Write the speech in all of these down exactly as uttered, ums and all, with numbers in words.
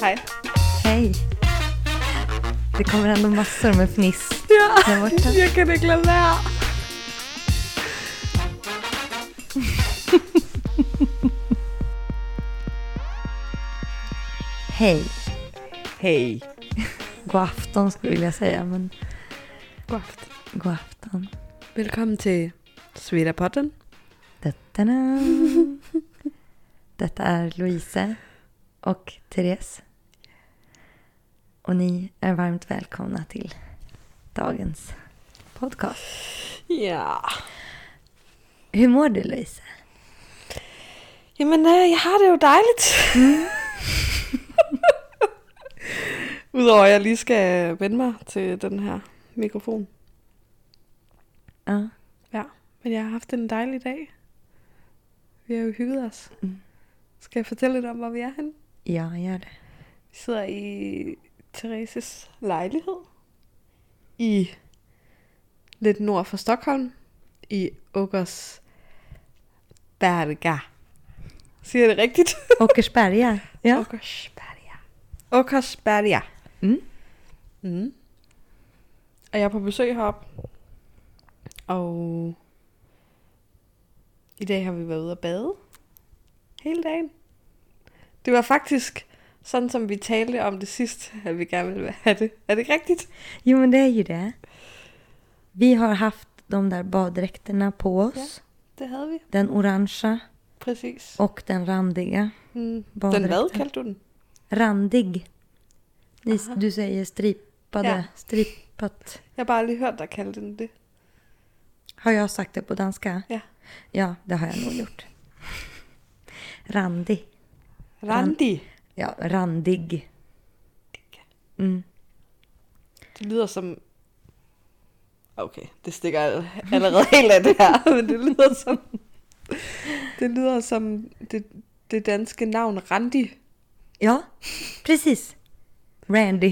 Hej. Hej. Det kommer ändå massor med fniss. Ja, där borta. jag kan inte glömma det. Hej. Hej. God afton skulle jag vilja säga, men God afton. god afton. Välkommen till Svedapodden. Da-da-da. Detta är Louise och Therese. Och ni är varmt välkomna till dagens podcast. Ja. Hur mår du, Louise? Jamen, øh, jeg har det jo dejligt. Mm. Udover at jeg lige skal vende mig til den her mikrofon. Ja. Ja, men jeg har haft en dejlig dag. Vi har jo hygget os. Mm. Skal jeg fortælle lidt om, hvor vi er henne? Ja, gör det. Vi sidder i Thereses lejlighed. I lidt nord for Stockholm. I Åkersberga. Siger jeg det rigtigt? Åkersberga. Ja. Åkersberga. Åkersberga. Mm. Mm. Og jeg er på besøg heroppe. Og i dag har vi været ude at bade. Hele dagen. Det var faktisk sådan, som vi talte om det sidst, at vi gerne ville have det. Er det ikke rigtigt? Jo, men det är ju det. Vi har haft de där baddräkterna på oss. Det havde vi. Den orangea Præcis. och den randiga. Mm. Den baddräkten. hvad kaldte du den? Randig. Ni, Aha. du säger stripade, Ja. strippat. Jeg har bare lige hørt dig kalde den det. Har jag sagt det på danska? Ja. Ja, det har jag nog gjort. Randig. Randi. Ja, randig. Mm. Det lyder som... Okay, det stikker allerede helt af det her, men det lyder som... Det lyder som det, det danske navn Randi. Ja, precis. Randy.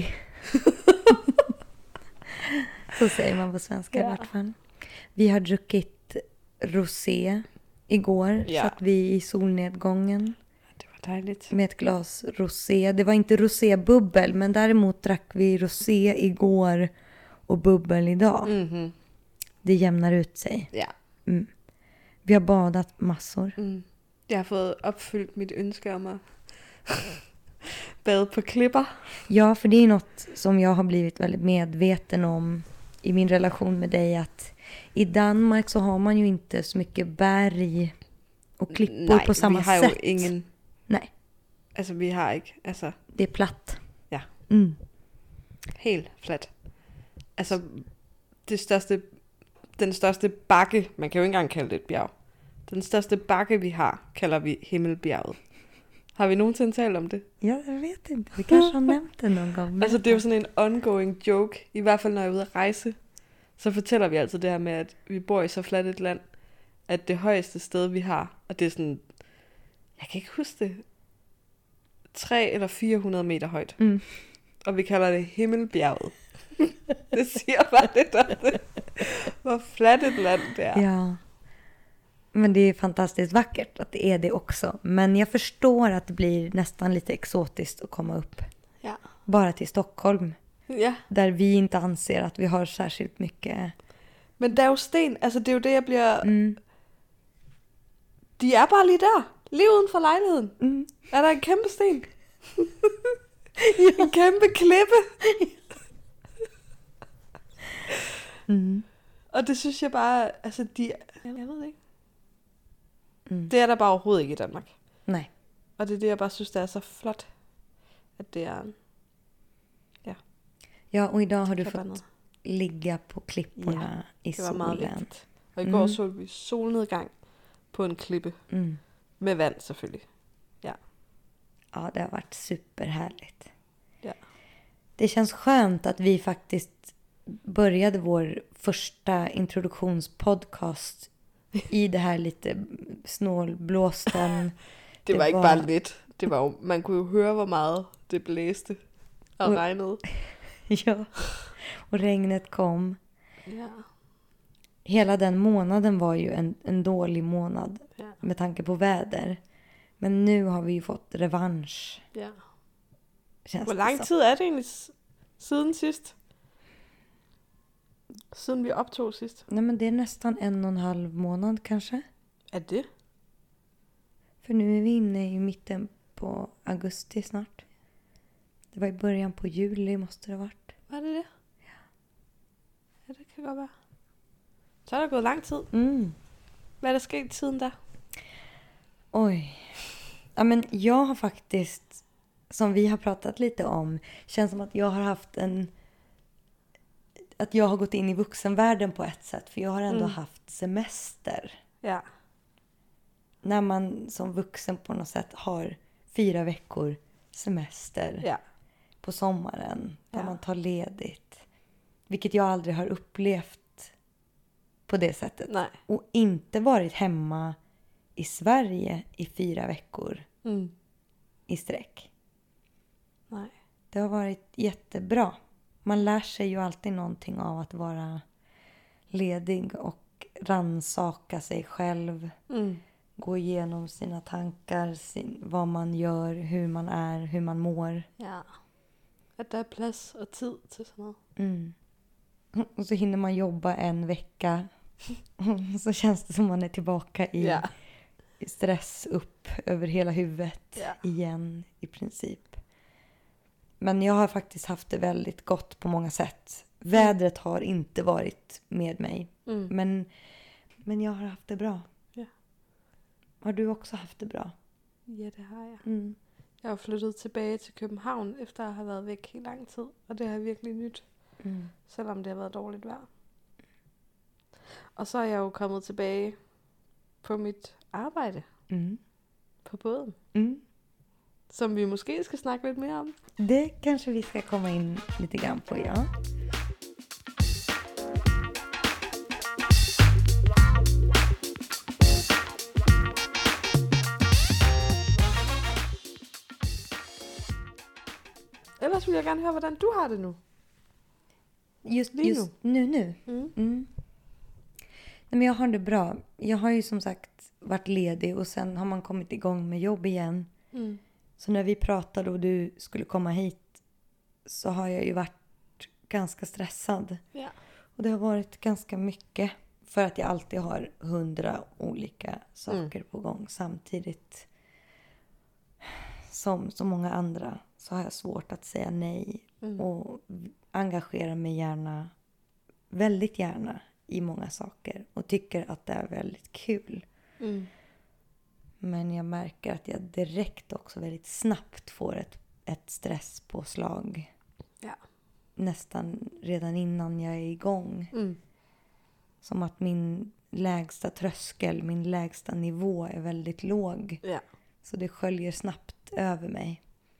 Så säger man på svenska Ja. i vart fall. Vi har druckit rosé igår. Ja. Satt vi i solnedgången Det var dejligt. med ett glas rosé. Det var inte rosébubbel, men däremot drack vi rosé igår och bubbel idag. Mm-hmm. Det jämnar ut sig. Ja. Mm. Vi har badat massor. Mm. Jeg har fået opfyldt mit ønske om at bade på klipper. Ja, för det är något som jag har blivit väldigt medveten om i min relation med dig, att i Danmark så har man ju inte så mycket berg och klippor Nej, på samma vi har sätt. jo ingen... Nej, Altså, vi har ikke... Altså, det är platt. Ja. Mm. helt flat. Altså, det største... Den største bakke... Man kan jo ikke engang kalde det et bjerg. Den største bakke, vi har, kalder vi Himmelbjerget. Har vi nogensinde talt om det? Ja, jag vet inte. Vi kanske har nämnt det någon gång. Altså, det er jo sådan en ongoing joke. I hvert fald, når jeg er ude at rejse, så fortæller vi altid det her med, at vi bor i så fladt et land, at det højeste sted, vi har, og det er sådan, jeg kan ikke huske det, tre eller fire hundrede meter højt. Mm. Og vi kalder det Himmelbjerget. Det siger bare lidt om det. Hvor fladt et land det er. Ja. Men det är fantastiskt vackert att det är det också. Men jag förstår att det blir nästan lite exotiskt att komma upp Ja. bara till Stockholm. Ja. Där vi inte anser att vi har särskilt mycket. Men der er jo sten, altså det er jo det, jeg bliver... Mm. De er bare lige der, lige uden for lejligheden. Mm. Er der en kæmpe sten? En kæmpe klippe. Mm. Og det synes jeg bare, altså de... Jeg ved det ikke. Mm. Det er der bare overhovedet ikke i Danmark. Nej. Og det er det, jeg bare synes, det er så flot. At det er... Ja, och idag har du Klipparna. fått ligga på klipporna i Det var meget solen. vigtigt. Og i går Mm. så vi solnedgang på en klippe. Mm. Med vand selvfølgelig. Ja. Ja, det har varit superhärligt. Ja. Det känns skönt att vi faktiskt började vår första introduktionspodcast i det här lite snålblåsten. Det, Det var ikke var- bare lidt. Det var jo, man kunne jo høre, hvor meget det blæste og Og- regnede. Ja, och regnet kom. Ja. Hela den månaden var ju en, en dålig månad Ja. med tanke på väder. Men nu har vi ju fått revansch. Ja. Känns Hvor det lang som. tid er det egentlig s- siden sidst? Siden vi optog sidst. Nej, men det är nästan en och en halv månad kanske. Er det? För nu är vi inne i mitten på augusti snart. Det var i början på juli måste det ha varit. Var det det? Ja. Ja, det kan godt være. Så er der gået lang tid. Mm. Hvad er der sket siden da? Oj. Ja, men jag har faktiskt, som vi har pratat lite om, känns som att jag har haft en... Att jag har gått in i vuxenvärlden på ett sätt. För jag har ändå Mm. haft semester. Ja. När man som vuxen på något sätt har fyra veckor semester Ja. på sommaren. Där Ja. man tar ledigt. Vilket jag aldrig har upplevt på det sättet. Nej. Och inte varit hemma i Sverige i fyra veckor Mm. i sträck. Nej. Det har varit jättebra. Man lär sig ju alltid någonting av att vara ledig och rannsaka sig själv. Mm. Gå igenom sina tankar, sin, vad man gör, hur man är, hur man mår. Ja. At der er plads og tid til sådan noget. Mm. Och så hinner man jobba en vecka. Så känns det som man är tillbaka i, Ja. i stress upp över hela huvudet Ja. igen i princip. Men jag har faktiskt haft det väldigt gott på många sätt. Vädret har inte varit med mig. Mm. Men, men jag har haft det bra. Ja. Har du också haft det bra? Ja, det har jeg. Mm. Jeg er flyttet tilbage til København, efter at have været væk i lang tid. Og det har jeg virkelig nyt, Mm. selvom det har været dårligt vejr. Og så er jeg jo kommet tilbage på mit arbejde Mm. på båden, Mm. som vi måske skal snakke lidt mere om. Det kanske vi ska komma in lite grann på, ja. Ellers vil jeg gerne høre, hvordan du har det nu. Just, Lige just nu nu. Mm. Mm. Nej, men jag har det bra. Jag har ju som sagt varit ledig och sen har man kommit igång med jobb igen. Mm. Så när vi pratade och du skulle komma hit så har jag ju varit ganska stressad. Ja. Och det har varit ganska mycket för att jag alltid har hundra olika saker Mm. på gång samtidigt. Som så många andra så har jag svårt att säga nej Mm. och engagera mig gärna, väldigt gärna i många saker och tycker att det är väldigt kul. Mm. Men jag märker att jag direkt också väldigt snabbt får ett, ett stresspåslag. Ja. Nästan redan innan jag är igång. Mm. Som att min lägsta tröskel, min lägsta nivå är väldigt låg. Ja. Så det sköljer snabbt över mig.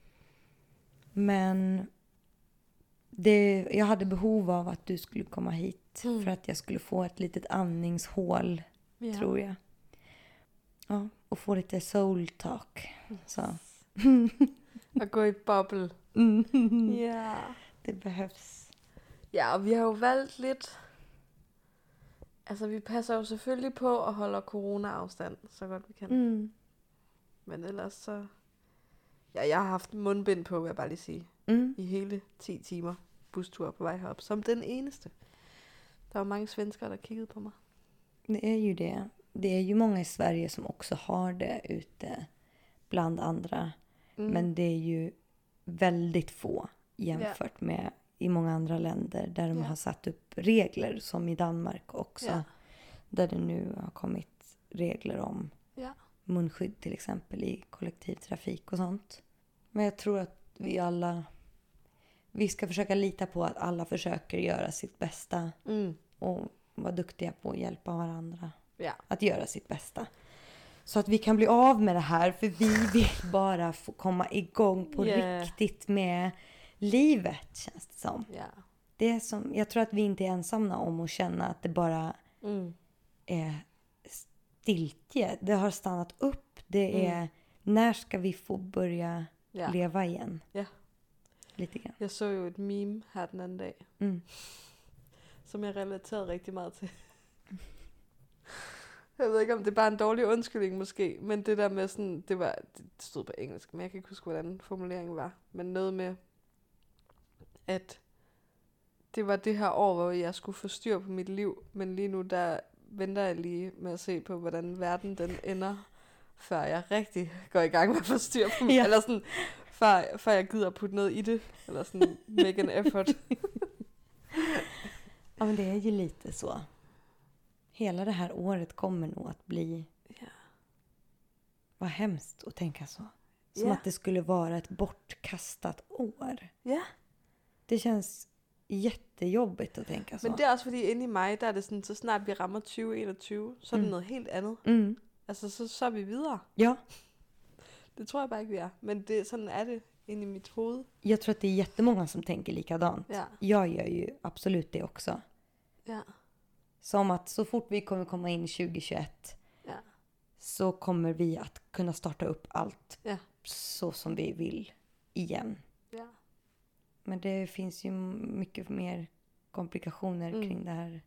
Men det, jag hade behov av att du skulle komma hit. Mm. För att jag skulle få ett litet andningshål, Ja. tror jag. Ja, och få lite soul talk. Så. Og gå i boble. Mm. Ja. Det behövs. Ja, og vi har jo valgt lidt... Altså, vi passer jo selvfølgelig på at holde corona-afstand, så godt vi kan. Mm. Men ellers så... Ja, jeg har haft mundbind på, vil jeg bare lige sige. Mm. I hele ti timer bustur på vej herop. Som den eneste. Der var mange svenskere, der kiggede på mig. Det är ju det. Det är ju många i Sverige som också har det ute bland andra. Mm. Men det är ju väldigt få jämfört med i många andra länder där de Ja. har satt upp regler, som i Danmark också. Ja. Där det nu har kommit regler om Ja. munskydd till exempel i kollektivtrafik och sånt. Men jag tror att vi alla, vi ska försöka lita på att alla försöker göra sitt bästa Mm. och vara duktiga på att hjälpa varandra Ja. att göra sitt bästa. Så att vi kan bli av med det här, för vi vill bara få komma igång på Yeah. riktigt med livet, känns det som. Ja. Det är som. Jag tror att vi inte är ensamma om att känna att det bara Mm. är stiltje. Det har stannat upp. Det är, Mm. när ska vi få börja Ja. leva igen? Ja. Lite grann. Jeg så jo et meme her den anden dag, Mm. som jeg relaterede rigtig meget til. øh, Jeg ved ikke, om det er bare en dårlig undskyldning måske, men det der med sådan, det var, det stod på engelsk, men jeg kan ikke huske, hvordan formuleringen var. Men noget med, at det var det her år, hvor jeg skulle få styr på mit liv, men lige nu, der venter jeg lige med at se på, hvordan verden den ender, før jeg rigtig går i gang med at få styr på mig. Ja. Eller sådan, før, før jeg gider putte noget i det, eller sådan, make an effort. Ja, men det är ju lite så. Hela det här året kommer nog att bli... Ja. Vad hemskt att tänka så. Som Ja. att det skulle vara ett bortkastat år. Ja. Det känns jättejobbigt att tänka så. Men det er også fordi, inde i mig, der er det sådan, så snart vi rammer tyve enogtyve, så er det Mm. noget helt andet. Mm. Altså, så, så er vi videre. Ja, Det tror jeg bare ikke, vi er. Men det, sådan er det inde i mit hoved. jag tror att det är jättemånga som tänker likadant. Ja. Jag gör ju absolut det också. Ja. Som att så fort vi kommer komma in i tjugo tjugoett Ja. så kommer vi att kunna starta upp allt Ja. så som vi vill igen. Ja. Men det finns ju mycket mer komplikationer Mm. kring det här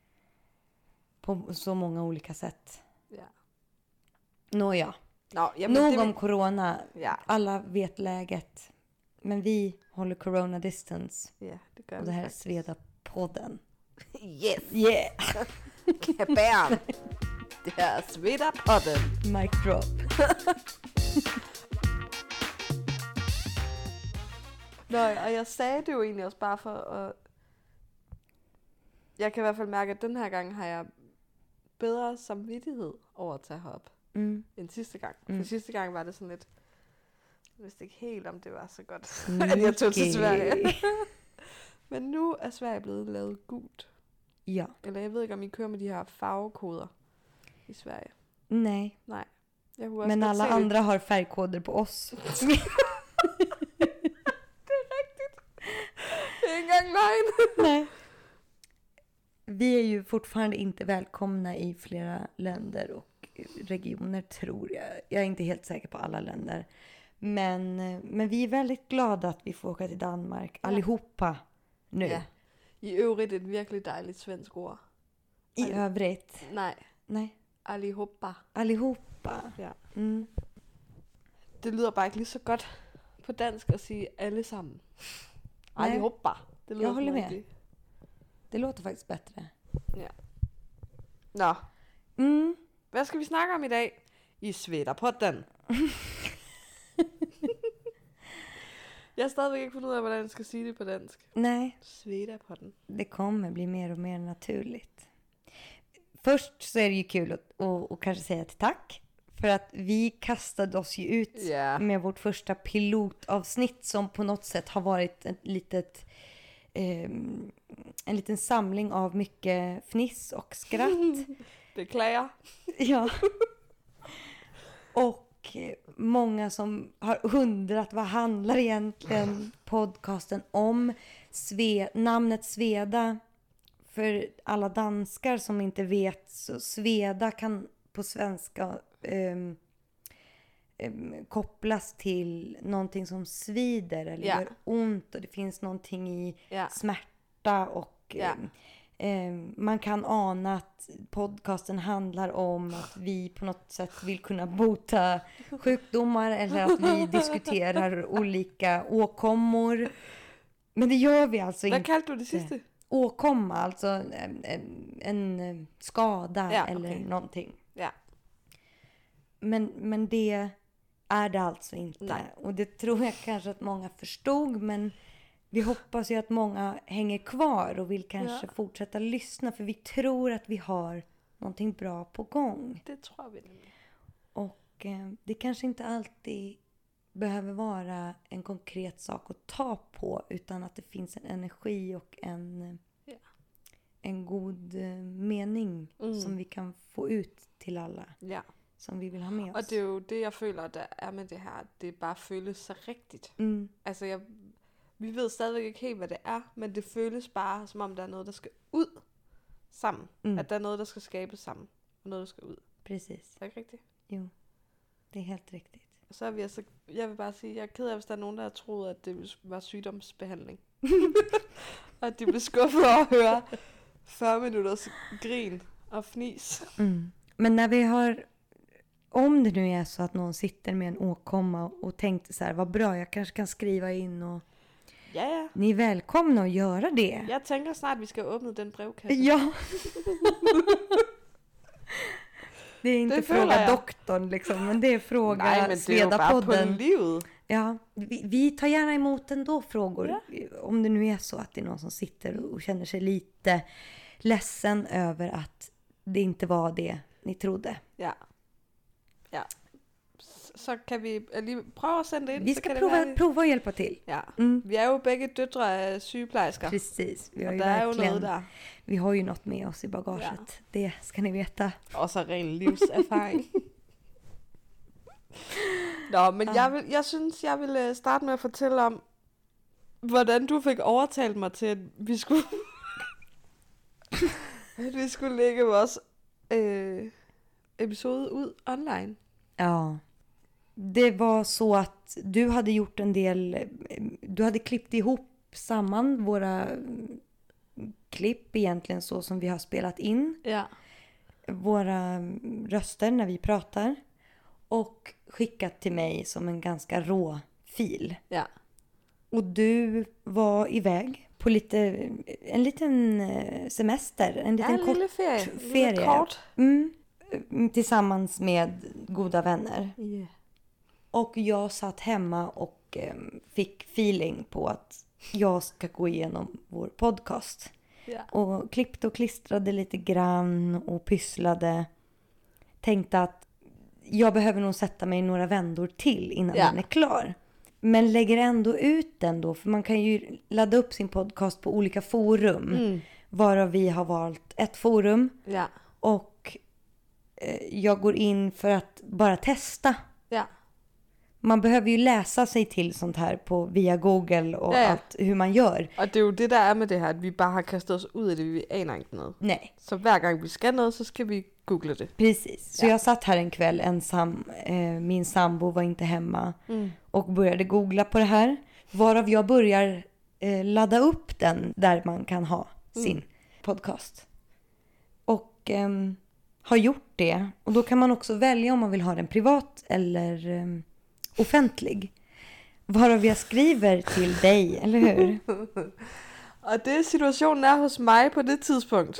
på så många olika sätt. Ja. Nåja, Nå, jamen, nog det, om corona. Ja. Alla vet läget. Men vi håller corona distance. Ja, det gør Och vi det här är faktisk. Sveda-podden. Yes! Yeah! Bam! Det her er Sveda-podden. Mic drop. Nå, og jeg sagde det jo egentlig også bare for at... Jeg kan i hvert fald mærke, at den her gang har jeg bedre samvittighed over at tage herop, Mm. end sidste gang. Mm. For sidste gang var det sådan lidt... Jeg vidste ikke helt, om det var så godt, at jeg tog til Nicky. Sverige. Men nu er Sverige blevet lavet gult. Ja. Eller jeg ved ikke, om I kører med de her farvekoder i Sverige. Nej. Nej. Jeg kunne også Men godt alla se det. andra har färgkoder på oss. Det er rigtigt. Det er ikke engang løgn. Nej. Vi är ju fortfarande inte välkomna i flera länder och regioner, tror jag. Jag är inte helt säker på alla länder. Men, men vi är väldigt glada att vi får åka till Danmark. Ja. Allihopa nu. Ja. I øvrigt et virkelig dejligt svensk ord. I Alli- övrigt. Nej, Nej. allihopa. Allihopa. Ja. Mm. Det lyder bare ikke lige så godt på dansk at sige alle sammen. Nej. Allihopa. Det lyder Jeg holder som med. rigtig- Det låter faktiskt bättre. Ja. Nå, Mm. hvad skal vi snakke om i dag? I Sveda-podden. Jeg har stadigvæk ikke fundet ud af, hvordan jeg skal sige det på dansk. Nej, Sveda-podden. det kommer bli mer och mer naturligt. Först så är det ju kul att, att, att kanske säga ett tack. För att vi kastade oss ju ut Ja. med vårt första pilotavsnitt som på något sätt har varit ett litet, ehm, en liten samling av mycket fniss och skratt. Beklager. Ja. Och eh, många som har undrat vad handlar egentligen podcasten om. Sve, namnet Sveda, för alla danskar som inte vet, så Sveda kan på svenska ehm, ehm, kopplas till någonting som svider eller Ja. gör ont, och det finns någonting i Ja. smärta och Ja. ehm, ehm, man kan ana att podcasten handlar om att vi på något sätt vill kunna bota sjukdomar eller att vi diskuterar olika åkommor. Men det gör vi alltså Hvad inte. kaldte du det sidste? Åkomma, alltså en, en, en skada Ja, eller okej. någonting. Ja. Men, men det är det alltså inte. Nej. Och det tror jag kanske att många förstod. Men vi hoppas ju att många hänger kvar och vill kanske Ja. fortsätta lyssna. För vi tror att vi har någonting bra på gång. Det tror vi nemlig. Och eh, det kanske inte alltid behöver vara en konkret sak att ta på. Utan att det finns en energi och en, eh, Ja. en god eh, mening Mm. som vi kan få ut till alla. Ja. Som vi vill ha med Og oss. det er jo det, jeg føler, der er med det her. at Det bare føles så rigtigt. Mm. Altså, jeg, vi ved stadigvæk ikke helt, hvad det er, men det føles bare, som om der er noget, der skal ud sammen. Mm. Mm. At der er noget, der skal skabes sammen. Og noget, der skal ud. Precis. Er det ikke rigtigt? Jo, det er helt rigtigt. Og så er vi altså, jeg vil bare sige, jeg er ked af, hvis der er nogen, der har troet, at det var sygdomsbehandling. og at de blev skuffet over at høre fyrre minutters grin og fnis. Mm. Men när vi har, om det nu är så att någon sitter med en åkomma och tänkte så här, vad bra, jag kanske kan skriva in och Ja, ja. ni är välkomna att göra det. Jag tänker snart, vi ska öppna den brevkasse. Ja. Det är inte Det fråga jag. doktorn liksom, men det är fråga Nej, men det är ju bara på Svedapodden. livet. Ja, vi, vi tar gärna emot ändå frågor. Ja. Om det nu är så att det är någon som sitter och känner sig lite ledsen över att det inte var det ni trodde. Ja. Ja. Så kan vi lige prøve at sende det ind. Vi så ska kan prova, det være... prova att hjälpa till. Ja. Mm. Vi är ju bägge døtre af sygeplejersker. Precis, vi har och ju det är ju verkligen, noget där. vi har ju något med oss i bagaget. Ja. Det ska ni veta. Og så ren livserfaring. Nå, men Ah. jeg, vil, jeg synes, jeg vil øh, starte med at fortælle om, hvordan du fik overtalt mig til, at vi skulle, at vi skulle lægge vores øh, episode ud online. Ja. Det var så att du hade gjort en del, du hade klippt ihop samman våra klipp egentligen så som vi har spelat in. Ja. Våra röster när vi pratar. Och skickat till mig som en ganska rå fil. Ja. Och du var iväg på lite, en liten semester. En liten Ja, en kort lille ferie. ferie. Lille kort. Mm, tillsammans med goda vänner. Yeah. Och jag satt hemma och eh, fick feeling på att jag ska gå igenom vår podcast. Ja. Och klippte och klistrade lite grann och pysslade. Tänkte att jag behöver nog sätta mig några vändor till innan Ja. den är klar. Men lägger ändå ut den då. För man kan ju ladda upp sin podcast på olika forum. Mm. Varav vi har valt ett forum. Ja. Och eh, jag går in för att bara testa. Ja. Man behöver ju läsa sig till sånt här på via Google och Ja, ja. allt hur man gör. Og det er jo det, der er med det her, at vi bare har kastet os ud i det, vi aner ikke noget. Nej, Så hver gang vi skal noget, så skal vi google det. precis. Så Ja. jag satt här en kväll ensam. Eh, min sambo var inte hemma. Mm. Och började googla på det här. Varav jag börjar eh, ladda upp den där man kan ha sin podcast. Och ehm, har gjort det. Och då kan man också välja om man vill ha den privat eller ehm, offentlig. Varav jag skriver till dig, eller hur? Og det situationen er hos mig på det tidspunkt.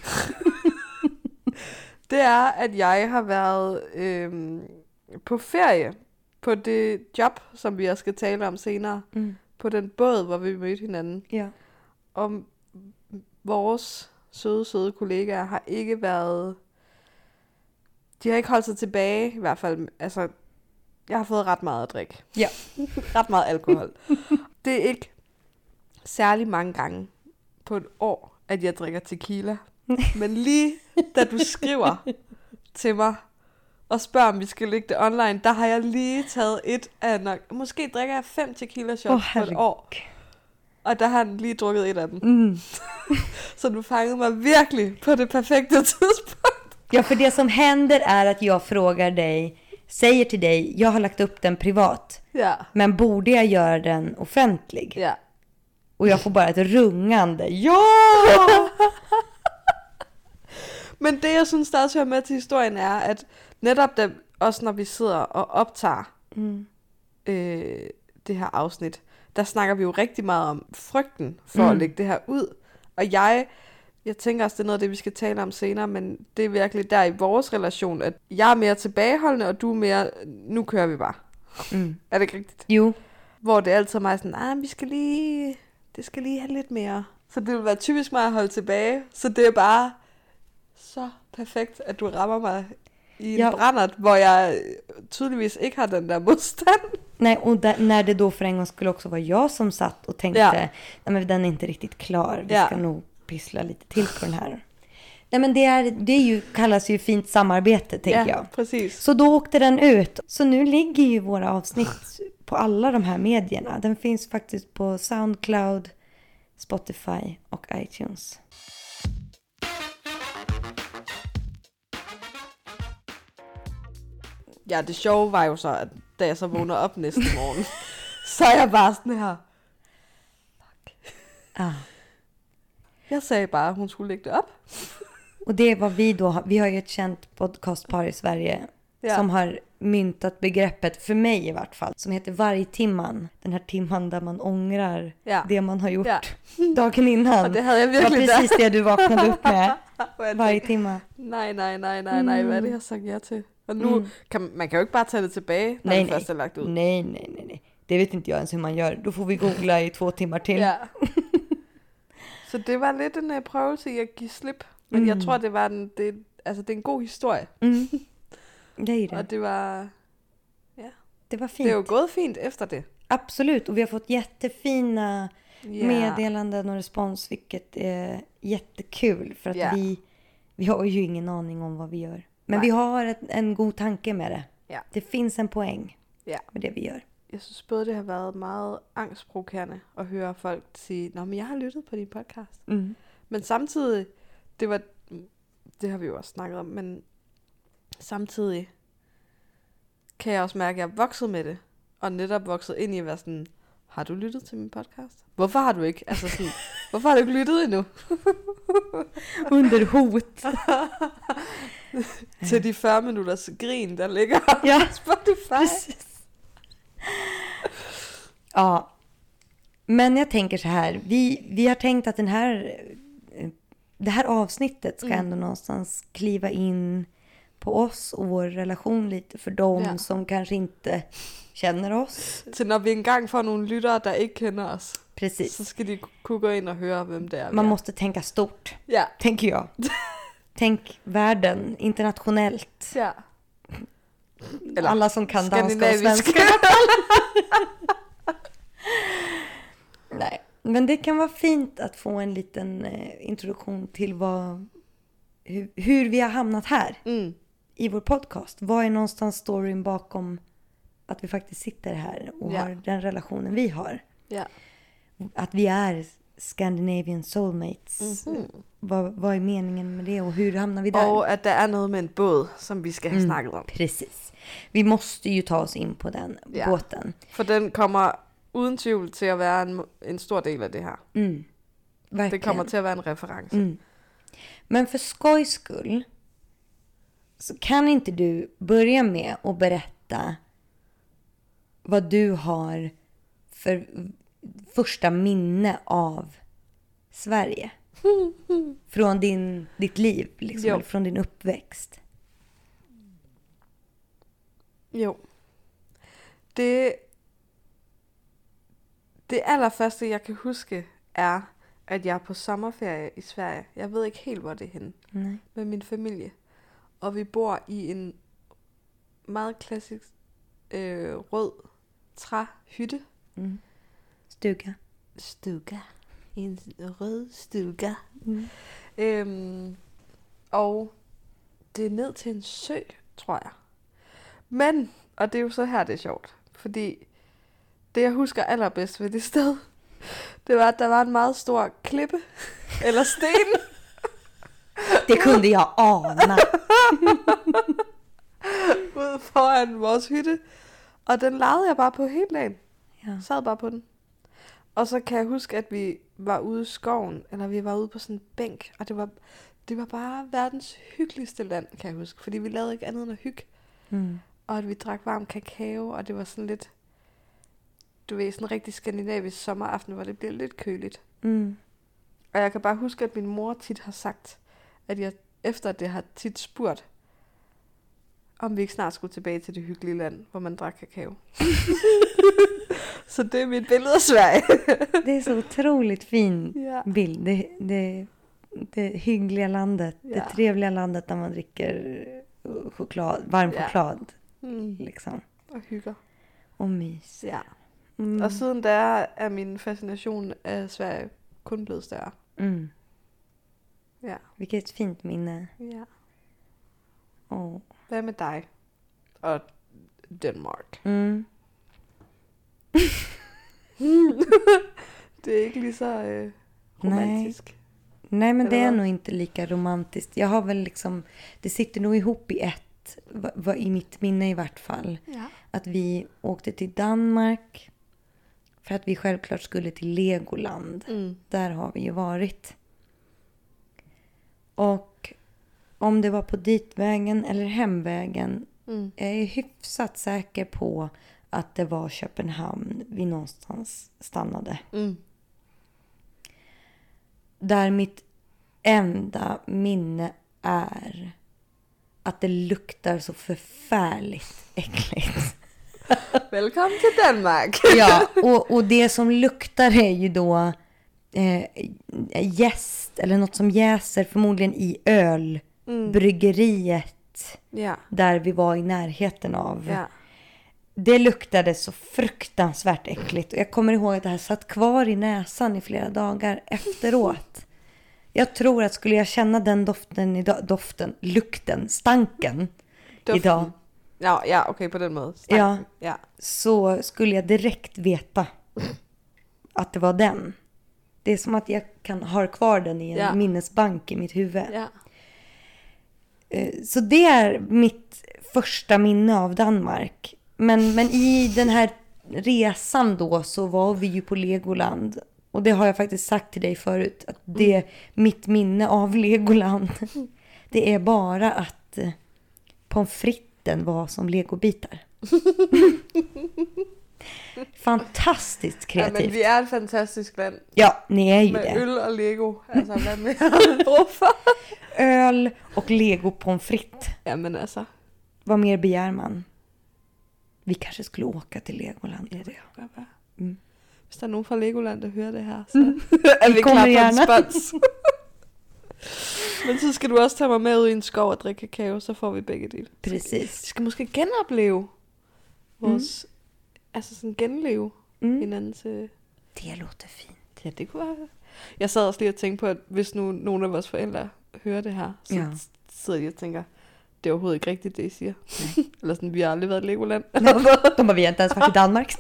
Det er, at jeg har været øhm, på ferie på det job, som vi også skal tale om senere. Mm. På den båd, hvor vi mødte hinanden. Ja. Og vores søde, søde kollegaer har ikke været... De har ikke holdt sig tilbage, i hvert fald. Altså, jeg har fået ret meget at drikke. Ja. Ret meget alkohol. Det er ikke særlig mange gange på et år, at jeg drikker tequila. Men lige da du skriver til mig og spørger, om vi skal lægge det online, der har jeg lige taget et af nok... Måske drikker jeg fem tequila shots Åh, på et år. Og der har han lige drukket et af dem. Mm. Så du fangede mig virkelig på det perfekte tidspunkt. Ja, för det som händer är att jag frågar dig, säger till dig, jag har lagt upp den privat. Ja. Men borde jag göra den offentlig? Ja. Och jag får bara ett rungande, ja! Men det, jeg synes, der også hører med til historien, er, at netop da, også når vi sidder og optager Mm. øh, det her afsnit, der snakker vi jo rigtig meget om frygten for Mm. at lægge det her ud. Og jeg, jeg tænker også, det er noget af det, vi skal tale om senere, men det er virkelig der i vores relation, at jeg er mere tilbageholdende, og du er mere, nu kører vi bare. Mm. Er det ikke rigtigt? Jo, Hvor det altid er mig sådan, ah, vi skal lige, det skal lige have lidt mere. Så det vil være typisk mig at holde tilbage, så det er bare så perfekt, at du rammer mig i en Ja. brændert, hvor jeg tydeligvis ikke har den der modstand. nej, och där, när det då för en gång skulle också vara jag som satt och tänkte, Ja. nej men den är inte riktigt klar, vi Ja. ska nog pyssla lite till på den här. Nej men det, är, det är ju, kallas ju fint samarbete, tänker Ja, jag. præcis. Så då åkte den ut. Så nu ligger ju våra avsnitt på alla de här medierna. Den finns faktiskt på SoundCloud, Spotify och iTunes. Ja, det sjove var jo så, at da jeg så vågner op næste morgen, så er jeg bare sådan her. Ah. Jeg sagde bare, at hun skulle lægge det op. Och det är vad vi då har. Vi har ju ett känt podcastpar i Sverige Ja. som har myntat begreppet, för mig i vart fall, som heter vargtimman. Den här timman där man ångrar Ja. det man har gjort Ja. dagen innan. Och det hade jag Det var virkelig precis det du vaknade upp med. Og jeg Varje tænkte, timma. nej, nej, nej, nej, nej, hvad er det, jeg har sagt ja til? Og nu, Mm. kan, man kan jo ikke bare tage det tilbage, når Nej, det nej. først er lagt ud. Nej, nej, nej, nej. Det vet inte jag ens hur man gör. Då får vi googla i två timmar till. Ja. Så det var lidt en uh, prøvelse i at give slip. Men Mm. jeg tror, det var en, det, altså, det er en god historie. Mm. Det är det. Og det var, Det var det fint. er jo gået fint efter det. Absolut. Och vi har fått jättefina Ja. meddelanden och respons, vilket är jättekul. För att Ja. vi, vi har ju ingen aning om vad vi gör. Men Nej. vi har ett, en god tanke med det. Ja. Det finns en poäng Ja. med det vi gör. Jeg synes både, det har været meget angstprovokerende at høre folk sige, nå, men jeg har lyttet på din podcast. Mm. Men samtidig, det var, det har vi jo også snakket om, men samtidig kan jeg også mærke, at jeg er vokset med det, og netop vokset ind i at være sådan, har du lyttet til min podcast? Hvorfor har du ikke? Altså sådan, hvorfor har du ikke lyttet endnu? Under hot. Til de fyrre minutters grin, der ligger Ja. på Spotify. Precis. Ja. Men jag tänker så här. Vi, vi har tänkt att den här, eh, det här avsnittet ska Mm. ändå någonstans kliva in på oss och vår relation lite för dem Ja. som kanske inte känner oss. Til når vi engang får nogle lyttere, der ikke kender os, så Precis. skal de kunne gå ind og høre, hvem det er. vi Man er. måste tänka stort, Ja. tänker jag. Tänk världen, internationellt. Ja. Eller Alla som kan danska och skandinavisk. svenska. Nej, men det kan vara fint att få en liten eh, introduktion till vad, hur, hur vi har hamnat här Mm. i vår podcast. Vad är någonstans storyn bakom att vi faktiskt sitter här och Ja. har den relationen vi har. Ja. Att vi är Scandinavian soulmates. Mhm. Vad, vad är meningen med det och hur hamnar vi där? Og at der er noget med en båd, som vi skal have Mm. snakket om. Precis. Vi måste ju ta oss in på den Ja. båten. For den kommer uden tvivl til at være en, en stor del af det her. Mm. Verkligen. Det kommer til at være en reference. Mm. Men för skojs skull så kan inte du börja med att berätta vad du har för första minne av Sverige? Från din, ditt liv, liksom, Jo. eller från din uppväxt. Jo. Det, det allerførste, jeg kan huske, er, at jeg er på sommerferie i Sverige. Jeg ved ikke helt, hvor det er henne. Nej. Med min familie. Og vi bor i en meget klassisk øh, rød træhytte. Mm. Stuga. Stuga. En rød stuga. Mm. Øhm, og det er ned til en sø, tror jeg. Men, og det er jo så her, det er sjovt. Fordi det, jeg husker allerbedst ved det sted, det var, at der var en meget stor klippe. Eller sten. Det kunde jag ana. Ude foran vores hytte. Og den legede jeg bare på hele dagen. Ja. Sad bare på den. Og så kan jeg huske, at vi var ude i skoven, eller vi var ude på sådan en bænk, og det var, det var bare verdens hyggeligste land, kan jeg huske. Fordi vi lavede ikke andet end at hygge. Mm. Og at vi drak varm kakao, og det var sådan lidt, du ved, sådan en rigtig skandinavisk sommeraften, hvor det bliver lidt køligt. Mm. Og jeg kan bare huske, at min mor tit har sagt, at jeg efter det har tit spurgt, om vi ikke snart skulle tilbage til det hyggelige land, hvor man drak kakao. Så det är mitt billede av Sverige. Det är så otroligt fin Ja. bild. Det, det, det hyggliga landet. Ja. Det trevliga landet där man dricker choklad, varm Ja. choklad. Mm. Liksom. Og hygger. Och mys. Ja. Mm. Og siden der er min fascination af Sverige kun blevet større. Mm. Ja. Vilket fint minne. Ja. Åh. Hvad med dig? Og Danmark. Mm. Det är inte lige så øh, romantisk. Nej, men Eller det är vad? nog inte lika romantiskt. Jag har väl liksom, det sitter nog ihop i ett, va, va, i mitt minne i vart fall. Ja. Att vi åkte till Danmark för att vi självklart skulle till Legoland. Mm. Där har vi ju varit. Och om det var på ditvägen eller hemvägen. Mm. Jag är hyfsat säker på att det var Köpenhamn vi någonstans stannade. Mm. Där mitt enda minne är att det luktar så förfärligt äckligt. Välkommen till Danmark. Ja, och, och det som luktar är ju då eh, jäst eller något som jäser förmodligen i ölbryggeriet Mm. Ja. där vi var i närheten av. Ja. Det luktade så fruktansvärt äckligt och jag kommer ihåg att det här satt kvar i näsan i flera dagar efteråt. Jag tror att skulle jag känna den doften idag, doften, lukten, stanken Doften. idag. Ja, ja, okej, okay, på den måten. Ja. Ja. Så skulle jag direkt veta att det var den. Det är som att jag kan ha kvar den i en Ja. minnesbank i mitt huvud. Ja. Så det är mitt första minne av Danmark. Men, men i den här resan då så var vi ju på Legoland. Och det har jag faktiskt sagt till dig förut. Att det är mitt minne av Legoland. Det är bara att eh, pommes fritesen var som legobitar. Fantastiskt Ja, kreativt. men vi är ett fantastiskt land. Ja, ni är ju Med det. öl och lego. Alltså, vad mer brug för? Öl och lego pommes frites. Ja, men alltså. Vad mer begär man? Vi kanske skulle åka till Legoland. Ja, det kan godt være. Mm. Hvis der er nogen fra Legoland, der hører det her, så Mm. er vi Vi klar kommer på en gärna. spons. Men så skal du også tage mig med ud i en skov og drikke kakao, så får vi begge dele. Vi Precis. skal måske genopleve vores, mm. altså sådan genleve Mm. hinandens... Øh... Det låter fint. Ja, det kunne være. Jeg sad også lige og tænkte på, at hvis nu nogle af vores forældre hører det her, så Ja. sidder de og tænker, det er overhovedet ikke rigtigt, det I siger. Eller sådan, vi har aldrig været i Legoland. Nej, de har vi inte ens varit i Danmark.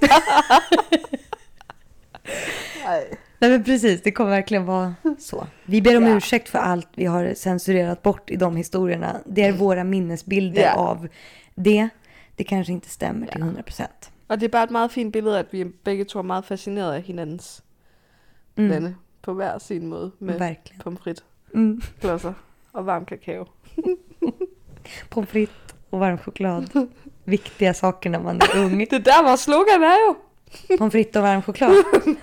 Nej. Nej men precis, det kommer verkligen vara så. Vi ber om Ja. ursäkt för allt vi har censurerat bort i de historierna. Det är våra minnesbilder Ja. av det. Det kanske inte stämmer till Ja. hundra procent. Og det er bare et meget fint billede, at vi begge to er meget fascineret af hinandens Mm. lande på hver sin måde med Verkligen. pommes frites, Mm. klodser og varm kakao. Pommes frites och varm choklad. Viktiga saker när man är ung. Det er der, vores slogan er jo. Pommes frites och varm choklad.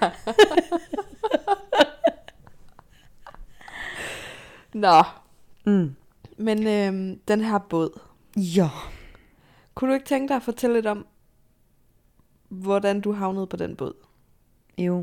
Nå, Mm. men øhm, den her båd. Ja. Kunne du ikke tænke dig at fortælle lidt om, hvordan du havnede på den båd? Jo.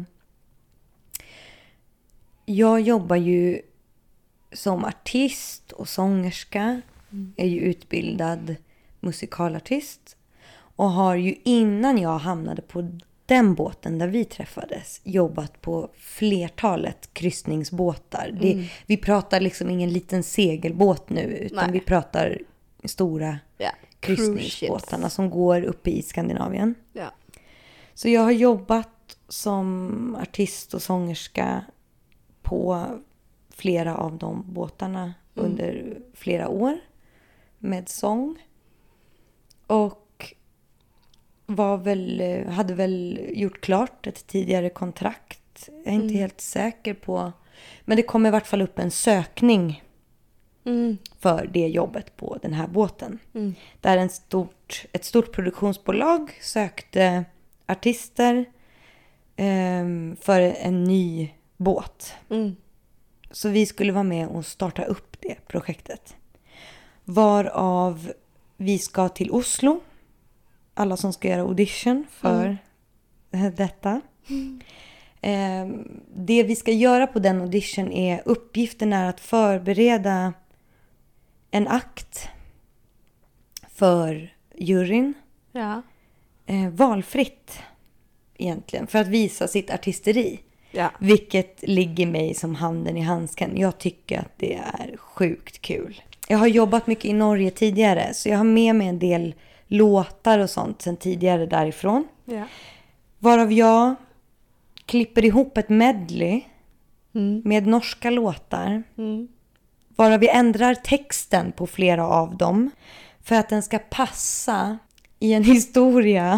Jag jobbar ju som artist och sångerska. Är ju utbildad musikalartist. Och har ju innan jag hamnade på den båten där vi träffades jobbat på flertalet kryssningsbåtar. Mm. Det, vi pratar liksom ingen liten segelbåt nu utan Nej. vi pratar stora Ja, kryssningsbåtarna som går uppe i Skandinavien. Ja. Så jag har jobbat som artist och sångerska på flera av de båtarna Mm. under flera år med sång. Och var väl, hade väl gjort klart ett tidigare kontrakt. Jag är inte Mm. helt säker på. Men det kom i vart fall upp en sökning Mm. för det jobbet på den här båten. Mm. Där en stort, ett stort produktionsbolag sökte artister ehm, för en ny båt. Mm. Så vi skulle vara med och starta upp det projektet. Varav vi ska till Oslo. Alla som ska göra audition för detta. Mm. Ehm, det vi ska göra på den audition är uppgiften är att förbereda en akt för juryn. Ja. Eh, valfritt egentligen för att visa sitt artisteri. Ja. Vilket ligger mig som handen i handsken. Jag tycker att det är sjukt kul. Jag har jobbat mycket i Norge tidigare. Så jag har med mig en del låtar och sånt sen tidigare därifrån. Ja. Varav jag klipper ihop ett medley Mm. med norska låtar. Mm. Varav vi ändrar texten på flera av dem. För att den ska passa i en historia.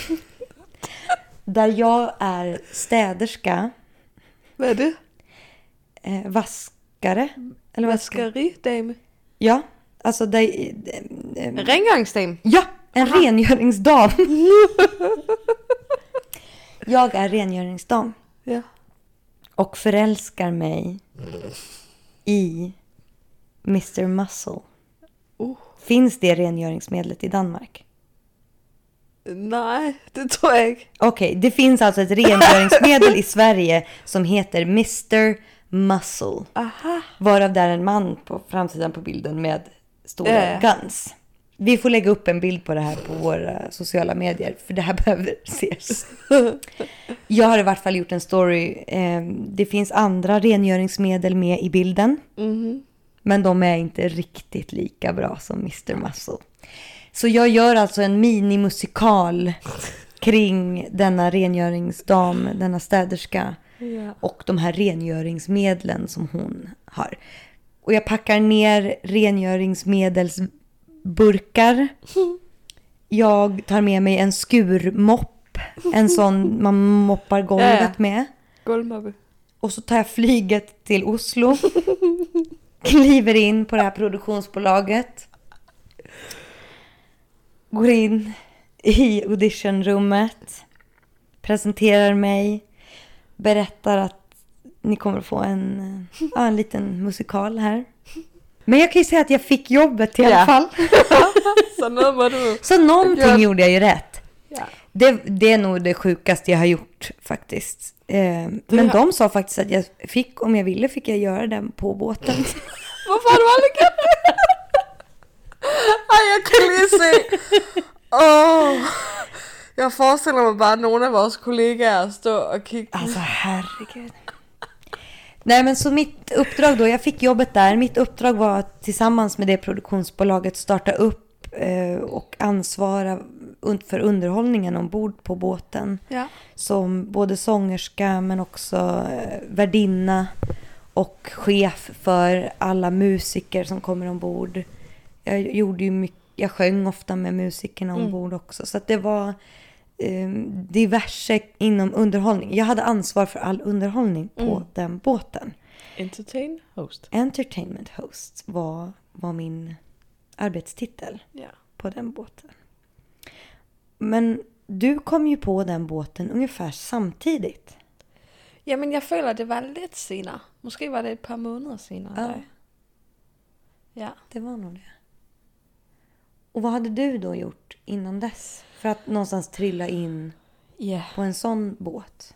Där jag är städerska. Hvad er det? Eh, vaskare. Eller vad ska... Vaskeridame. Ja, alltså det... En rengöringsdam? Ja, en Aha. rengöringsdam. Jag är rengöringsdam. Ja. Och förälskar mig i mister Muscle. Uh. Finns det rengöringsmedlet i Danmark? Nej, det tror jag inte. Okej, okay, det finns alltså ett rengöringsmedel i Sverige som heter mister Muscle. Aha. Varav där är en man på framsidan på bilden med stora Ja, ja. guns. Vi får lägga upp en bild på det här på våra sociala medier. För det här behöver ses. Jag har i vart fall gjort en story. Det finns andra rengöringsmedel med i bilden. Mm-hmm. Men de är inte riktigt lika bra som mister Muscle. Så jag gör alltså en minimusikal kring denna rengöringsdam, denna städerska. Ja. Och de här rengöringsmedlen som hon har. Och jag packar ner rengöringsmedelsburkar. Jag tar med mig en skurmopp. En sån man moppar golvet ja, ja. med. Golvmobbe. Och så tar jag flyget till Oslo. Kliver in på det här produktionsbolaget. Går in i auditionrummet. Presenterar mig. Berättar att ni kommer att få en, ja, en liten musikal här. Men jag kan ju säga att jag fick jobbet i alla Ja. fall. Så, nu var du... Så någonting Ja. gjorde jag ju rätt. Ja. Det, det är nog det sjukaste jag har gjort faktiskt. Eh, men Ja. de sa faktiskt att jag fick, om jag ville, fick jag göra den på båten. Varför har du aldrig gjort det? Ej, jag kan lige se. Åh. Jag föreställer mig bara, att några av våra kollegor står och kigger. Alltså herregud. Nej, men så mitt uppdrag då, jag fick jobbet där. Mitt uppdrag var att tillsammans med det produktionsbolaget starta upp eh, och ansvara un- för underhållningen ombord på båten. Ja. Som både sångerska men också eh, värdinna och chef för alla musiker som kommer ombord. Jag gjorde ju mycket, jag sjöng ofta med musikerna ombord mm. också. Så att det var eh, diverse inom underhållning. Jag hade ansvar för all underhållning på mm. den båten. Entertain host. Entertainment host var, var min arbetstitel Ja. på den båten. Men du kom ju på den båten ungefär samtidigt. Ja, men jag føler, det var lite senare. Måske var det ett par månader senare. Ja. Där. Ja. Det var nog det. Och vad hade du då gjort innan dess? För att någonstans trilla in Ja. på en sån båt.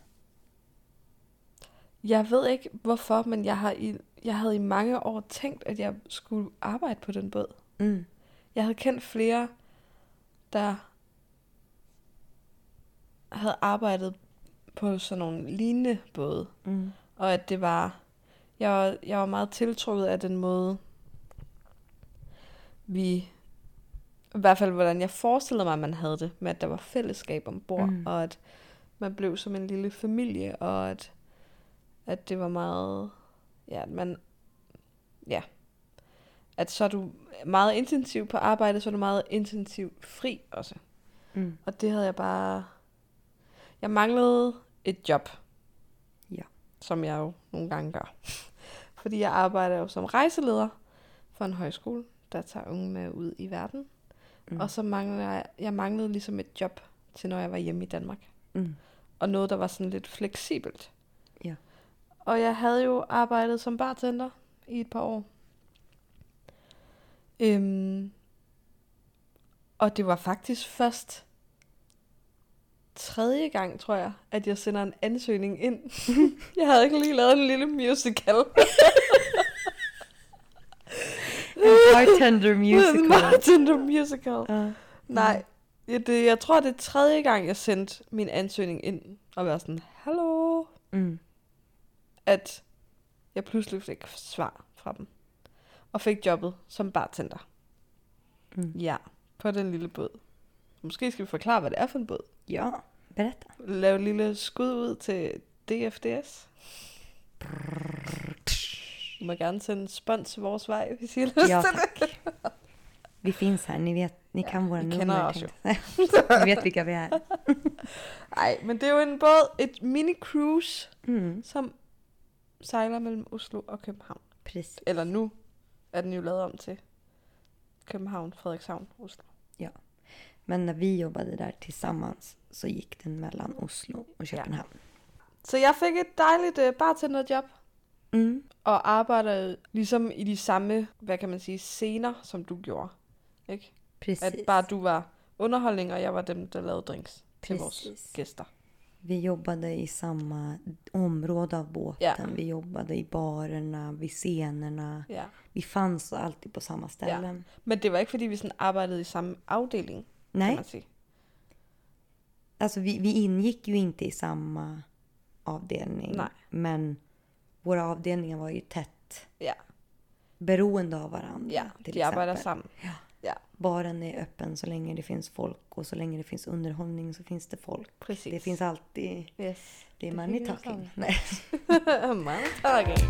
Jeg ved ikke hvorfor, men jeg har i jeg havde i mange år tænkt, at jeg skulle arbejde på den båd. Mm. Jeg havde kendt flere, der havde arbejdet på sådan nogle lignende både. Mm. Og at det var jeg var jeg var meget tiltrukket af den måde vi i hvert fald hvordan jeg forestillede mig, at man havde det med at der var fællesskab ombord mm. og at man blev som en lille familie og at at det var meget ja, at man ja, at så er du meget intensiv på arbejde, så er du meget intensiv fri også. Mm. Og det havde jeg bare jeg manglede et job. Ja. Som jeg jo nogle gange gør. Fordi jeg arbejder jo som rejseleder for en højskole, der tager unge med ud i verden. Mm. Og så manglede jeg, jeg manglede ligesom et job til, når jeg var hjemme i Danmark. Mm. Og noget, der var sådan lidt fleksibelt. Ja. Og jeg havde jo arbejdet som bartender i et par år. Øhm, og det var faktisk først tredje gang, tror jeg, at jeg sender en ansøgning ind. Jeg havde ikke lige lavet en lille musical. En bartender musical. En bartender musical. Uh, Nej, det, jeg tror, det er tredje gang, jeg sendte min ansøgning ind. Og var sådan, hallo. Mm. At jeg pludselig fik svar fra dem. Og fik jobbet som bartender. Mm. Ja, på den lille båd. Måske skal vi forklare, hvad det er for en båd. Ja, berätta. Lave et lille skud ud til D F D S. Du må gerne sende spons vores vej, hvis I har lyst Ja, til tack. det. Vi finns här, ni vet, ni kan våra vi kender nummer. os jo. Ni vet vilka vi är. Nej, men det er jo en båd, et mini-cruise, Mm. som sejler mellem Oslo og København. Precis. Eller nu er den jo lavet om til København, Frederikshavn, Oslo. Ja. Men när vi jobbade där tillsammans så gick den mellan Oslo och Köpenhamn. Ja. Så jeg fik et dejligt uh, bartenderjob. Mm. Og arbejdede ligesom i de samme, hvad kan man sige, scener, som du gjorde. Ikke? Precis. At bare du var underholdning, og jeg var dem, der lavede drinks til Precis. vores gæster. Vi jobbade i samma område av båten. Ja. Vi jobbade i barerna, vid scenerna. Ja. Vi fanns alltid på samma ställen. Ja. Men det var ikke, fordi vi sådan arbejdede i samme afdeling, Nej. kan man sige. Alltså vi, vi ingick ju inte i samma avdelning. Nej. Men våra avdelningar var ju tätt Ja. beroende av varandra. Ja, till de arbejder exempel. sammen. Ja. Ja. Baren är öppen så länge det finns folk. Och så länge det finns underhållning så finns det folk. Precis. Det finns alltid... Yes. Det är Det money hänger talking. sammen. Nej. Money talking.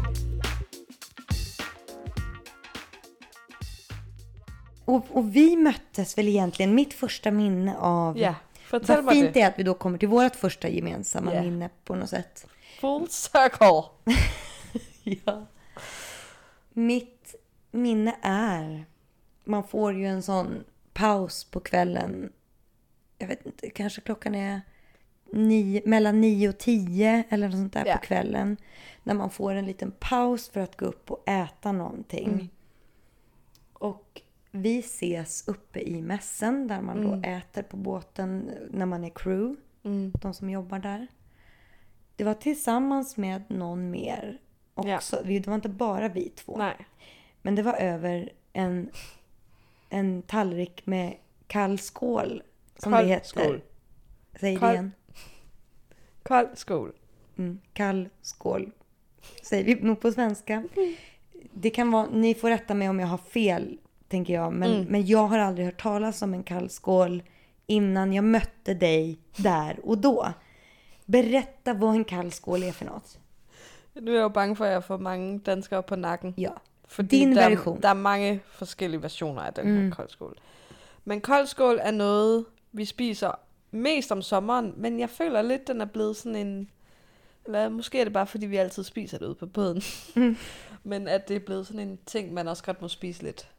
Och, och vi möttes väl egentligen, mitt första minne av... Ja, fortæl Vad mig fint det. det är att vi då kommer till vårt första gemensamma Ja. minne på något sätt. Full circle. Ja. Mitt minne är... Man får ju en sån paus på kvällen. Jag vet inte, kanske klockan är nio, mellan nio och tio eller något sånt där Ja. på kvällen. När man får en liten paus för att gå upp och äta någonting. Mm. Och vi ses uppe i mässen där man Mm. då äter på båten när man är crew. Mm. De som jobbar där. Det var tillsammans med någon mer också. Det var inte bara vi två. Nej. Men det var över en, en tallrik med kall skål. Som Kold det heter. skål. Säg det Kold- igen. Kold skål. Mm, kall skål. Säger vi nog på svenska. Det kan vara, ni får rätta mig om jag har fel, tänker jag. Men, Mm. men jag har aldrig hört talas om en kall skål innan jag mötte dig där og då. Berätta vad en kall skål är för något. Nu er jeg jo bange for, at jeg får mange danskere på nakken. Ja. Fordi Din der, version. der er mange forskellige versioner af den Mm. her koldskål. Men koldskål er noget, vi spiser mest om sommeren, men jeg føler lidt, den er blevet sådan en... Eller måske er det bare, fordi vi altid spiser det ude på båden. Mm. Men at det er blevet sådan en ting, man også godt må spise lidt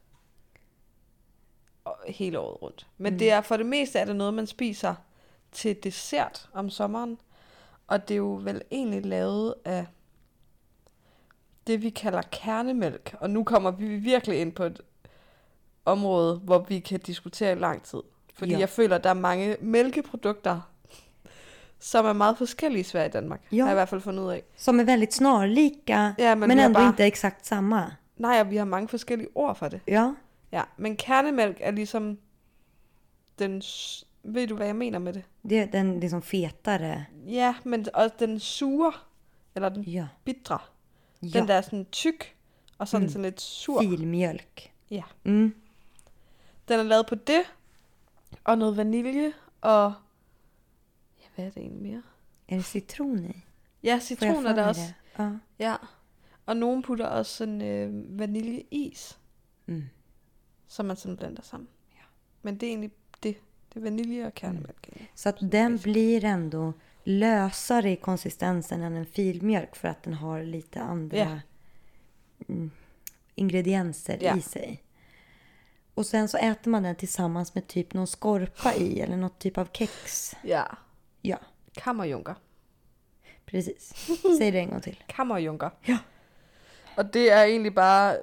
hele året rundt. Men mm. det er for det meste er det noget, man spiser til dessert om sommeren. Og det er jo vel egentlig lavet af det, vi kalder kernemælk. Og nu kommer vi virkelig ind på et område, hvor vi kan diskutere i lang tid. Fordi Ja. jeg føler, at der er mange mælkeprodukter, som er meget forskellige i Sverige og Danmark. Ja. Har jeg i hvert fald fundet ud af. Som är väldigt snarlika. Ja, men men vi har ändå bara- inte exakt samma. Nej, og vi har mange forskellige ord for det. Ja. Ja, men kernemælk er ligesom den... s- Ved du, hvad jeg mener med det? Det är den liksom fetare. Ja, men også den sure, eller den Ja. bitre. Ja. Den der er sådan tyk, og sådan, Mm. sådan lidt sur. Filmjölk. Ja. Mm. Den er lavet på det, og noget vanilje, og... Ja, hvad er det egentlig mere? Är det citron i? Ja, Får citron jag er för der mig også. det? Ja. Ja. Og nogen putter også sådan øh, vaniljeis, Mm. som man sådan blander sammen. Ja. Men det er egentlig det. Det er vanilje og kernemælk. Mm. Så att den blir ändå lösare i konsistensen än en filmjölk för att den har lite andra Ja. mm, ingredienser Ja. i sig. Och sen så äter man den tillsammans med typ någon skorpa i eller något typ av kex. Ja. Ja, Kammerjunker. precis. Säg det en gång till. Kammerjunker. Ja. Og det er egentlig bare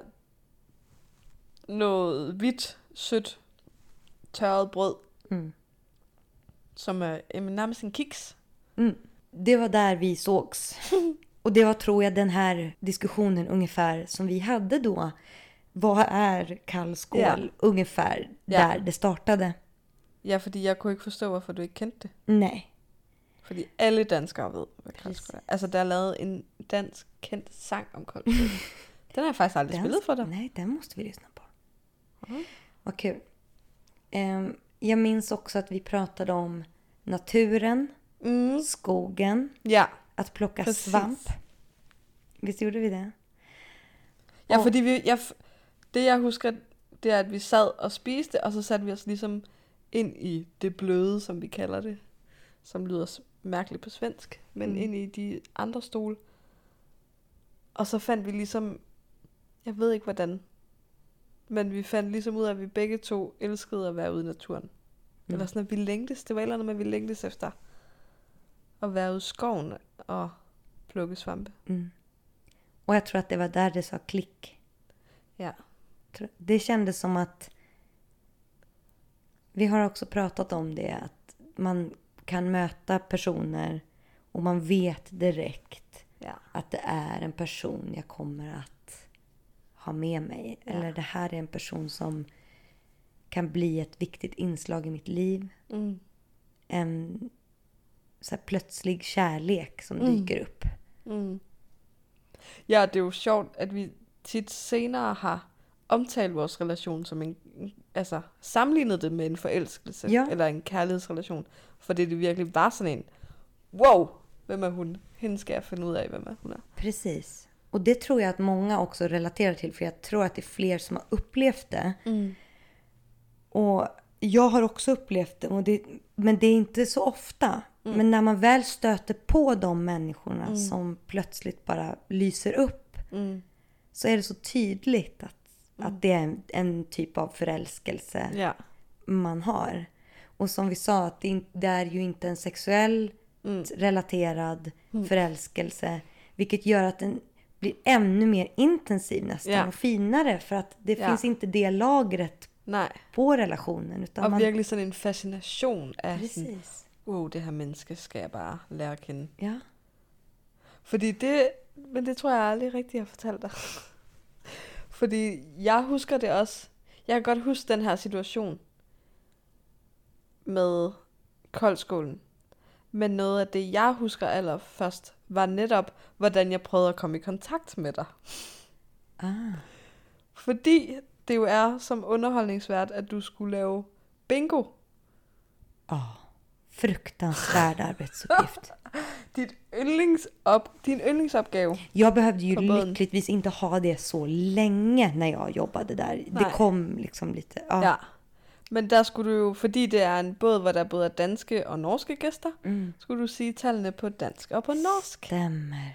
noget hvidt, sødt, tørret brød, Mm. som er øh, nærmest en kiks. Mm. Det var där vi sågs. Och det var, tror jag, den här diskussionen ungefär som vi hade då. Vad är kall skål? Ja. Ungefär Ja. där det startade. Ja, fordi jeg kunne ikke forstå, hvorfor du ikke kendte det. Nej. Fordi alle danskere ved, hvad Præcis. koldskål er. Altså, der er lavet en dansk kendt sang om koldskål. Den har jeg faktisk aldrig Den, spillet for dig. Nej, den måste vi lyssna på. Mm. Vad kul. Ehm, jag minns också att vi pratade om naturen, Mm. skogen, Ja. att plocka Precis. svamp. Visst gjorde vi det? Ja, Og- fordi vi, jeg, det jeg husker, det er, at vi sad og spiste, og så satte vi os ligesom ind i det bløde, som vi kalder det, som lyder s- mærkeligt på svensk, men Mm. ind i de andre stole. Og så fandt vi ligesom, jeg ved ikke hvordan, men vi fandt ligesom ud af, at vi begge to elskede at være ude i naturen. Mm. Eller sådan, at vi længtes. Det var et eller andet med, at vi længtes efter at være ude i skoven og plukke svampe. Mm. Och jag tror att det var där det sa klick. Ja. Det kändes som att vi har också pratat om det, att man kan möta personer och man vet direkt Ja. att det är en person jag kommer att ha med mig. Ja. Eller det här är en person som kan bli ett viktigt inslag i mitt liv. Mm. En så här plötslig kärlek som Mm. dyker upp. Mm. Ja, det er jo sjovt, at vi tit senere har omtalt vores relation som en, altså sammenlignet det med en forelskelse, Ja. eller en kærlighedsrelation, fordi det virkelig var sådan en, wow, hvem er hun? Hende skal jeg finde ud af, hvem er hun er. Precis. Och det tror jag att många också relaterar till, för jag tror att det är fler som har upplevt det. Mm. Och jag har också upplevt det, och det men det är inte så ofta. Mm. Men när man väl stöter på de människorna mm. som plötsligt bara lyser upp, Mm. så är det så tydligt att, Mm. att det är en, en typ av förälskelse Ja. man har. Och som vi sa, att det, in, det är ju inte en sexuell Mm. relaterad Mm. förälskelse, vilket gör att den blir ännu mer intensiv nästan Ja. och finare, för att det Ja. finns inte det lagret Nej. på relationen, utan Og man... virkelig sådan en fascination af sådan, Precis. wow, det her menneske skal jeg bare lære at kende. Ja. Fordi det, men det tror jeg aldrig rigtig har fortalt dig. Fordi jeg husker det også. Jeg kan godt huske den her situation med koldskålen. Men noget af det, jeg husker allerførst, var netop, hvordan jeg prøvede at komme i kontakt med dig. Ah. Fordi det jo er som underholdningsvært, at du skulle lave bingo. Ja. Fruktansvärd arbetsuppgift. Dit yndlingsop, din yndlingsopgave. Jag behövde ju På båden. lyckligtvis inte ha det så länge när jag jobbade där. Det Nej. kom liksom lite... Ja. Ja. Men der skulle du jo, fordi det er en båd, hvor der både er danske og norske gæster, Mm. skulle du sige tallene på dansk og på norsk. Stämmer.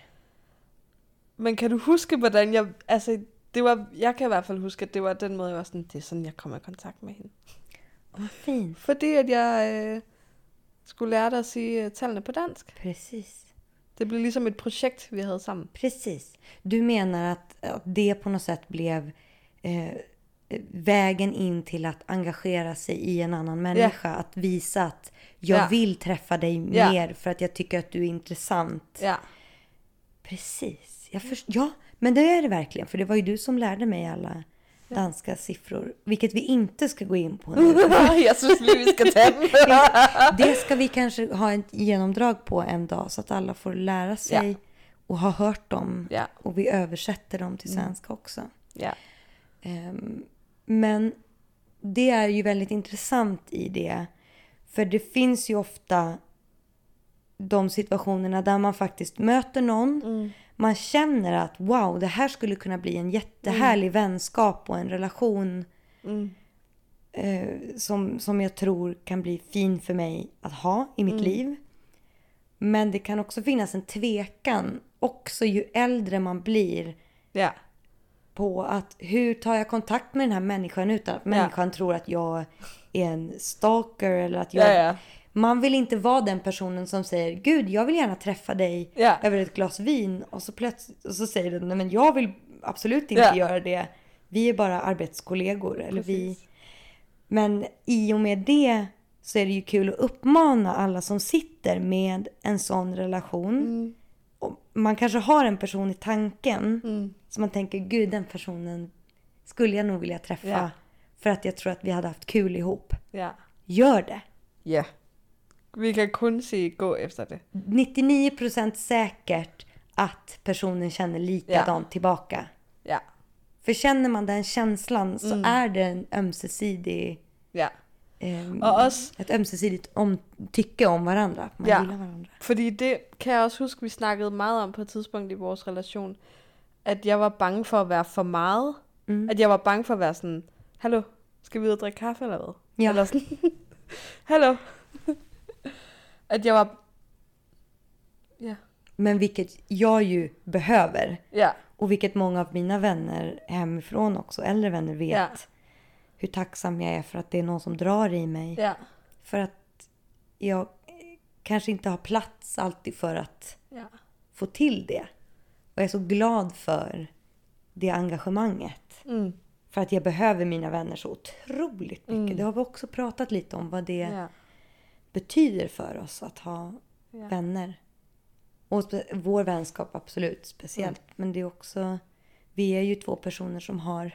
Men kan du huske, hvordan jeg... Altså, det var, jeg kan i hvert fald huske, at det var den måde, jeg var sådan, det er sådan, jeg kommer i kontakt med hende. Vad fint. Fordi at jeg øh, skulle lære dig at sige øh, tallene på dansk. Precis. Det blev ligesom et projekt, vi havde sammen. Precis. Du menar att, att det på något sätt blev eh, vägen in till att engagera sig i en annan människa. Ja. Att visa att jag Ja. vill träffa dig Ja. mer för att jag tycker att du är intressant. Ja. Precis. Jag först- ja, men det är det verkligen. För det var ju du som lärde mig alla danska siffror. Vilket vi inte ska gå in på nu. jeg synes lige, vi skal tage dem. Det ska vi kanske ha ett genomdrag på en dag, så att alla får lära sig Ja. och ha hört dem. Ja. Och vi översätter dem till svenska också. Ja. Ehm, men det är ju väldigt intressant i det. För det finns ju ofta de situationerna där man faktiskt möter någon. Mm. Man känner att wow, det här skulle kunna bli en jättehärlig vänskap och en relation Mm. eh, som, som jag tror kan bli fin för mig att ha i mitt Mm. liv. Men det kan också finnas en tvekan, också ju äldre man blir, Ja. på att hur tar jag kontakt med den här människan utan att människan tror att jag är en stalker, eller att jag... Ja, ja. Man vill inte vara den personen som säger, gud, jag vill gärna träffa dig Ja. över ett glas vin, och så plötsligt och så säger den, nej men jag vill absolut inte Ja. göra det. Vi är bara arbetskollegor, eller vi. Precis. Men i och med det så är det ju kul att uppmana alla som sitter med en sån relation. Mm. Och man kanske har en person i tanken Mm. som man tänker, gud, den personen skulle jag nog vilja träffa, Ja. för att jag tror att vi hade haft kul ihop. Ja. Gör det. Ja. Vi kan kun sige gå efter det. nittionio procent säkert att personen känner likadant tillbaka. Ja. För känner man den känslan så Mm. är det en ömsesidig, Ja. ehm, Og også, ett ömsesidigt om, tycke om varandra. Man Ja. gillar varandra. fordi det kan jeg også huske, vi snakkede meget om på et tidspunkt i vores relation, at jeg var bange for at være for meget. Mm. At jeg var bange for at være sådan, hallo, skal vi ud og drikke kaffe eller hvad? Ja. Eller sådan, hallo. At jeg var, ja, Men vilket jag ju behöver. ja, Och Och vilket många av mina vänner hemifrån också, äldre vänner, vet. Ja. Hur tacksam jag är för att det är någon som drar i mig. Ja. För att jag kanske inte har plats alltid för att Ja. få till det. Och jag är så glad för det engagemanget. Mm. För att jag behöver mina vänner så otroligt mycket. Mm. Det har vi också pratat lite om vad det Ja. betyder för oss att ha Ja. vänner. Och spe- vår vänskap absolut speciellt. Mm. Men det är också, vi är ju två personer som har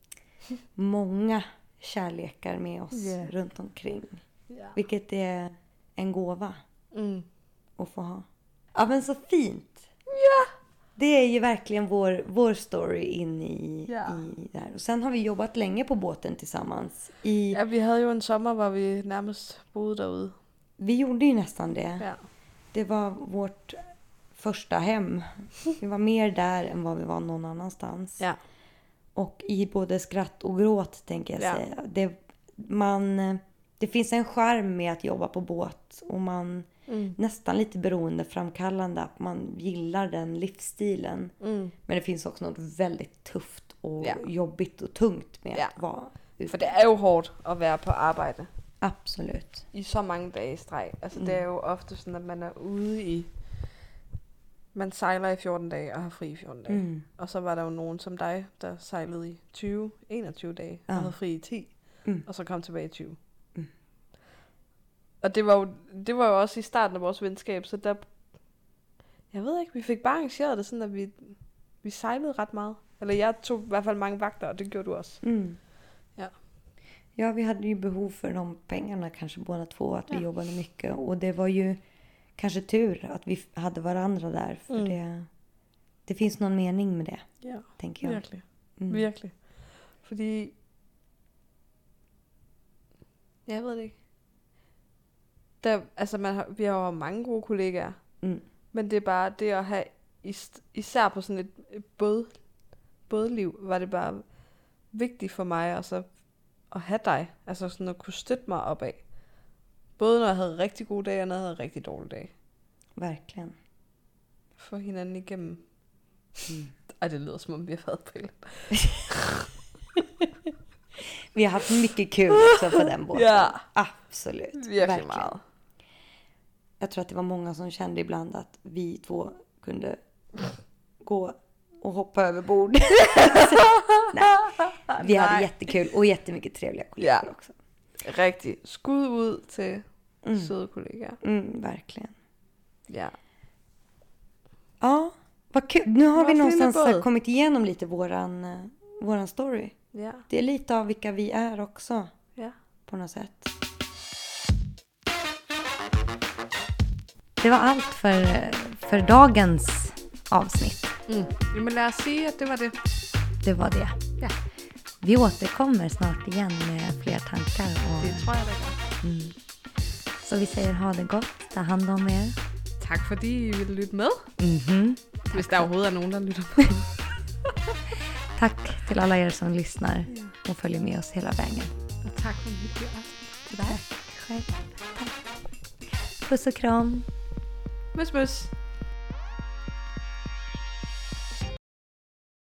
många kärlekar med oss Yeah. runt omkring. Ja. Vilket är en gåva Mm. att få ha. Ja, men så fint. Ja. Det är ju verkligen vår, vår story in i, Ja. i det här. Och sen har vi jobbat länge på båten tillsammans. I, Ja, vi hade ju en sommar hvor vi närmast bodde derude. Vi gjorde ju nästan det. Ja. Det var vårt första hem. Vi var mer där än vad vi var någon annanstans. Ja. Och i både skratt och gråt, tänker jag Ja. säga. Det, man, det finns en charm med att jobba på båt. Och man Mm. nästan lite beroendeframkallande. Att man gillar den livsstilen. Mm. Men det finns också något väldigt tufft och Ja. jobbigt och tungt med Ja. att vara ute. For det er jo hårdt at være på arbejde Absolut. i så mange dage i streg. Altså Mm. det er jo ofte sådan, at man er ude i... Man sejler i fjorten dage og har fri i fjorten dage. Mm. Og så var der jo nogen som dig, der sejlede i tyve, enogtyve dage Ja. og havde fri i ti. Mm. Og så kom tilbage i tyve. Mm. Og det var, jo, det var jo også i starten af vores venskab, så der... Jeg ved ikke, vi fik bare arrangeret det sådan, at vi, vi sejlede ret meget. Eller jeg tog i hvert fald mange vagter, og det gjorde du også. Mm. Ja. Ja, vi hade ju behov för de pengarna kanske båda två. Att vi Ja. jobbade mycket. Och det var ju kanske tur att vi hade varandra där. För Mm. det, det finns någon mening med det, Ja, tänker jag. virkelig. Mm. Virkelig. Fordi... Jeg ved det ikke. Der, altså man har, vi har jo mange gode kollegaer, Mm. men det er bare det at have, is- især på sådan et et båd, bådliv, var det bare vigtigt for mig og så at have dig. Altså sådan at kunne støtte mig opad. Både når jeg havde rigtig gode dage, og når jeg havde rigtig dårlige dage. Verkligen. Få hinanden igennem. Mm. Ej, det lyder som om vi har været på det. Vi har haft mycket kul också på den båten. Ja. Absolut. Virkelig meget. Jag tror att det var många som kände ibland att vi två kunde gå och hoppa över bord. Nej. Vi hade Nej. jättekul och jättemycket trevliga kollegor Ja. också. Rigtig. Skud ud til Mm. søde kollegaer. Mm, verkligen. Ja. Ja, vad kul. Nu har Vad vi fin någonstans båt. kommit igenom lite våran, eh, våran story. Ja. Det är lite av vilka vi är också Ja. på något sätt. Det var allt för, för dagens avsnitt. Mm. Jamen lad os sige, at det var det. Det var det. Ja. Vi återkommer snart igen med fler tankar. Och, Det tror jeg, det gør. mm. Så vi säger ha det gott. Ta hand om er. Tak fordi I ville lytte med. Mhm. Hvis der overhovedet er nogen, der lytter med. Tack till alla er som lyssnar Ja. och följer med oss hela vägen. Og tak for en hyggelig aften til dig. Själv. Tack. Puss och kram. Møs, møs.